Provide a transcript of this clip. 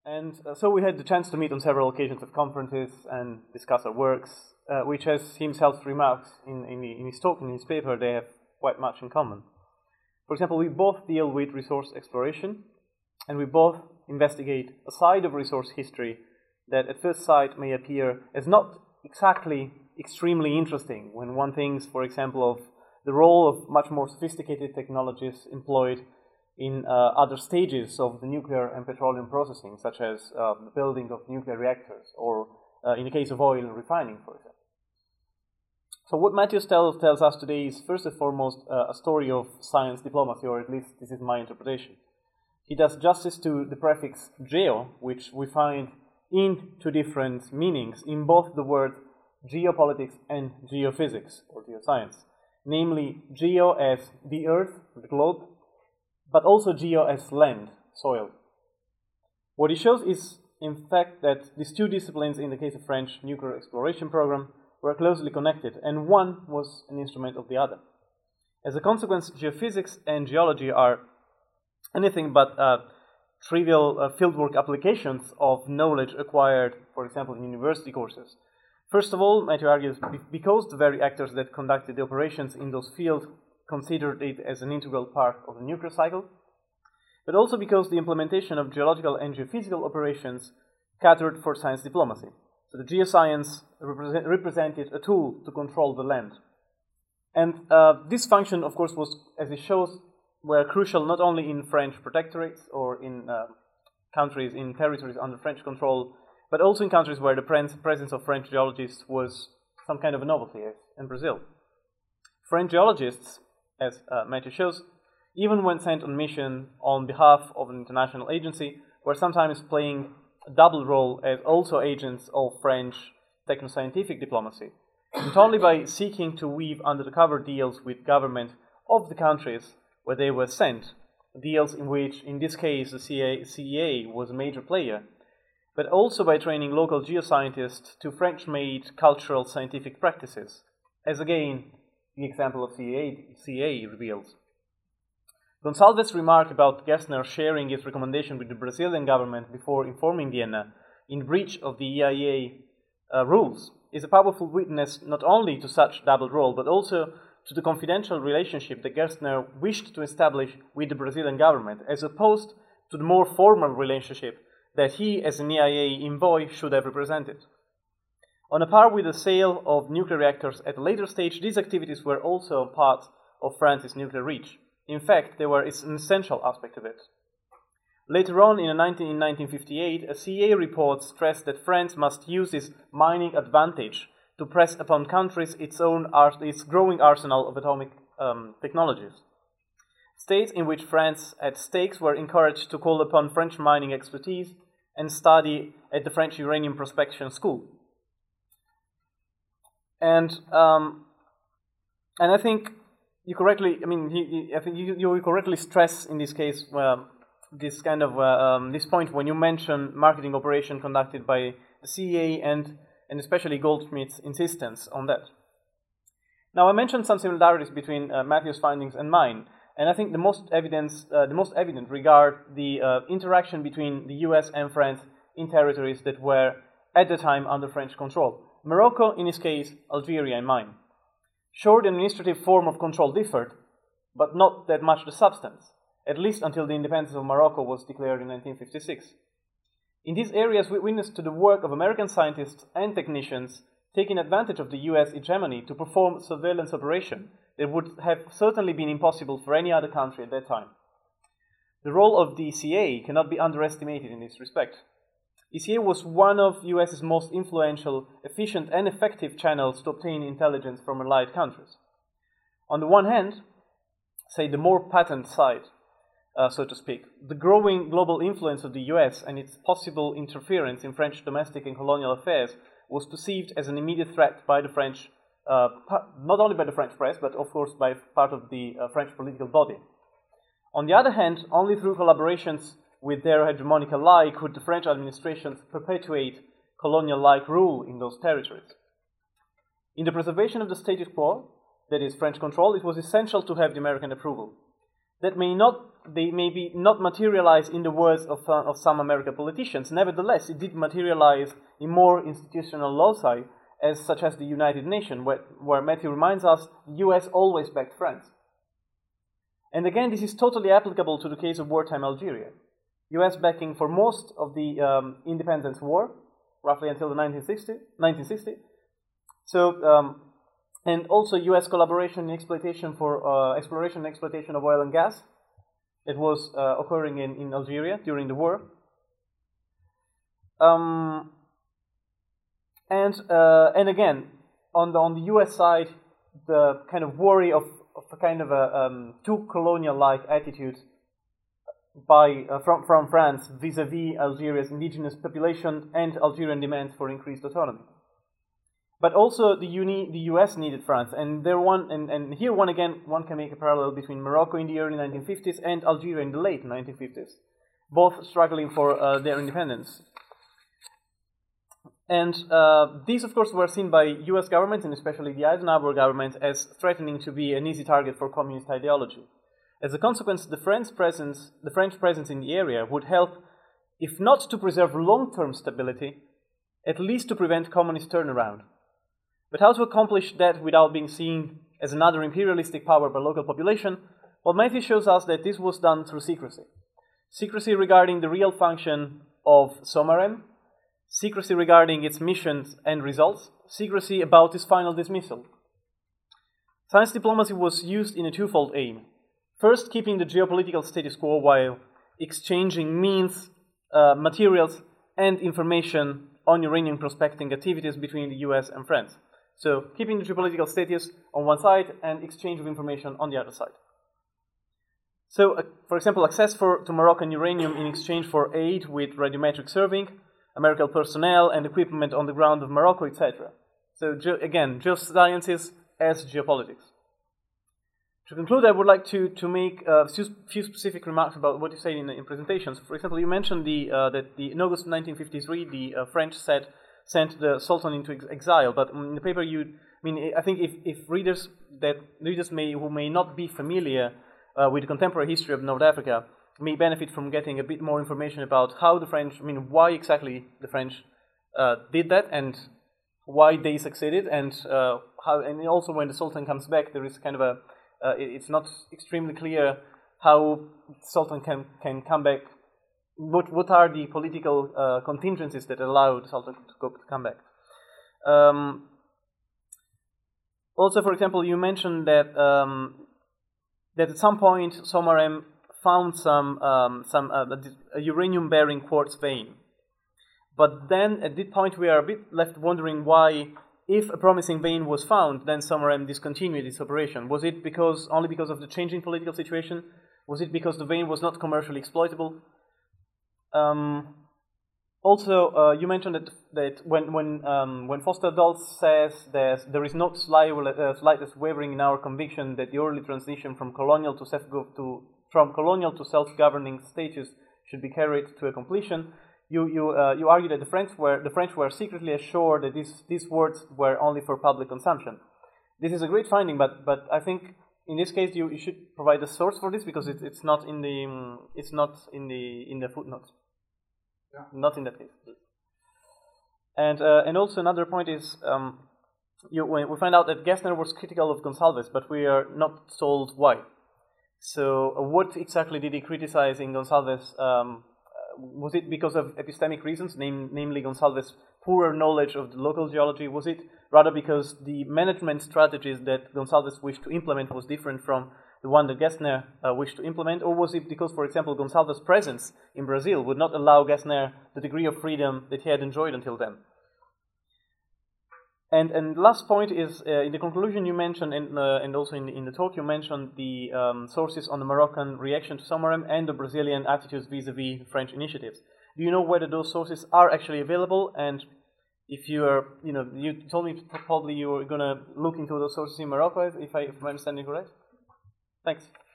And so we had the chance to meet on several occasions at conferences and discuss our works, which, as he himself remarks in his talk, in his paper, they have quite much in common. For example, we both deal with resource exploration, and we both investigate a side of resource history that at first sight may appear as not exactly extremely interesting when one thinks, for example, of the role of much more sophisticated technologies employed in other stages of the nuclear and petroleum processing, such as the building of nuclear reactors, or in the case of oil refining, for example. So what Matthews tells us today is first and foremost a story of science diplomacy, or at least this is my interpretation. He does justice to the prefix geo, which we find in two different meanings in both the word geopolitics and geophysics, or geoscience. Namely, geo as the earth, the globe, but also geo as land, soil. What he shows is, in fact, that these two disciplines, in the case of French nuclear exploration program, were closely connected, and one was an instrument of the other. As a consequence, geophysics and geology are anything but trivial fieldwork applications of knowledge acquired, for example, in university courses. First of all, Matthew argues, because the very actors that conducted the operations in those fields considered it as an integral part of the nuclear cycle, but also because the implementation of geological and geophysical operations catered for science diplomacy. So the geoscience represented a tool to control the land. And this function, of course, was, as it shows, were crucial not only in French protectorates or in countries, in territories under French control, but also in countries where the presence of French geologists was some kind of a novelty, as in Brazil. French geologists, as Matthew shows, even when sent on mission on behalf of an international agency, were sometimes playing a double role as also agents of French techno-scientific diplomacy, not only by seeking to weave under-the-cover deals with government of the countries where they were sent, deals in which, in this case, the CEA was a major player, but also by training local geoscientists to French-made cultural scientific practices, as again, the example of CEA reveals. Gonçalves' remark about Gerstner sharing his recommendation with the Brazilian government before informing Vienna in breach of the EIA rules is a powerful witness not only to such double role, but also to the confidential relationship that Gerstner wished to establish with the Brazilian government, as opposed to the more formal relationship that he, as an EIA envoy, should have represented. On a par with the sale of nuclear reactors at a later stage, these activities were also part of France's nuclear reach. In fact, they were an essential aspect of it. Later on, in 1958, a CEA report stressed that France must use this mining advantage to press upon countries its growing arsenal of atomic technologies. States in which France had stakes were encouraged to call upon French mining expertise and study at the French Uranium Prospection School. And I think you correctly, you correctly stress in this case this kind of this point when you mention marketing operation conducted by the CEA and especially Goldschmidt's insistence on that. Now, I mentioned some similarities between Matthew's findings and mine, and I think the most evident regard the interaction between the US and France in territories that were at the time under French control. Morocco, in his case, Algeria in mine. Sure, the administrative form of control differed, but not that much the substance, at least until the independence of Morocco was declared in 1956. In these areas, we witnessed to the work of American scientists and technicians taking advantage of the US hegemony to perform surveillance operation that would have certainly been impossible for any other country at that time. The role of the CEA cannot be underestimated in this respect. ECA was one of the US's most influential, efficient, and effective channels to obtain intelligence from allied countries. On the one hand, say the more patent side, so to speak, the growing global influence of the US and its possible interference in French domestic and colonial affairs was perceived as an immediate threat by the French, not only by the French press, but of course by part of the French political body. On the other hand, only through collaborations with their hegemonic ally could the French administrations perpetuate colonial-like rule in those territories. In the preservation of the status quo, that is, French control, it was essential to have the American approval. That may not they maybe not materialize in the words of some American politicians. Nevertheless, it did materialize in more institutional loci, such as the United Nations, where Matthew reminds us the US always backed France. And again, this is totally applicable to the case of wartime Algeria. US backing for most of the independence war, roughly until the 1960. So, and also US collaboration in exploitation for exploration and exploitation of oil and gas. It was occurring in Algeria during the war. And again, on the US side, the kind of worry of a kind of a too colonial-like attitude from France vis-a-vis Algeria's indigenous population and Algerian demands for increased autonomy. But also the US needed France, and here one can make a parallel between Morocco in the early 1950s and Algeria in the late 1950s, both struggling for their independence. And these, of course, were seen by US governments, and especially the Eisenhower government, as threatening to be an easy target for communist ideology. As a consequence, the French presence in the area would help, if not to preserve long-term stability, at least to prevent communist turnaround. But how to accomplish that without being seen as another imperialistic power by local population? Well, Matthew shows us that this was done through secrecy. Secrecy regarding the real function of SOMAREM, secrecy regarding its missions and results, secrecy about its final dismissal. Science diplomacy was used in a twofold aim. First, keeping the geopolitical status quo while exchanging means, materials, and information on uranium prospecting activities between the US and France. So, keeping the geopolitical status on one side and exchange of information on the other side. So, for example, access to Moroccan uranium in exchange for aid with radiometric surveying, American personnel and equipment on the ground of Morocco, etc. So, again, geosciences as geopolitics. To conclude, I would like to make a few specific remarks about what you said in presentations. For example, you mentioned that in August 1953, the French sent the Sultan into exile. But in the paper, I think if readers who may not be familiar with the contemporary history of North Africa may benefit from getting a bit more information about how the French, why exactly the French did that and why they succeeded, and also when the Sultan comes back, there is kind of it's not extremely clear how Sultan can come back. What are the political contingencies that allow the Sultan to come back? Also, for example, you mentioned that at some point SOMAREM found a uranium-bearing quartz vein. But then at this point we are a bit left wondering why, if a promising vein was found, then SOMAREM discontinued its operation. Was it only because of the changing political situation? Was it because the vein was not commercially exploitable? Also, you mentioned that when Foster Dulles says that there is no slightest wavering in our conviction that the early transition from colonial to self-governing status should be carried to a completion, you argue that the French were secretly assured that these words were only for public consumption. This is a great finding, but I think in this case you should provide a source for this, because it's not in the footnotes. Yeah. Not in that case. And also another point is we find out that Gessner was critical of Gonsalves, but we are not told why. So what exactly did he criticize in Gonsalves? Was it because of epistemic reasons, namely Gonsalves' poorer knowledge of the local geology? Was it rather because the management strategies that Gonsalves wished to implement was different from the one that Gessner wished to implement? Or was it because, for example, Gonsalves' presence in Brazil would not allow Gessner the degree of freedom that he had enjoyed until then? And last point is, in the conclusion you mentioned, and also in the talk you mentioned the sources on the Moroccan reaction to SOMAREM and the Brazilian attitudes vis-a-vis French initiatives. Do you know whether those sources are actually available? And if you are, you told me probably you were going to look into those sources in Morocco, if I'm understanding correct? Thanks.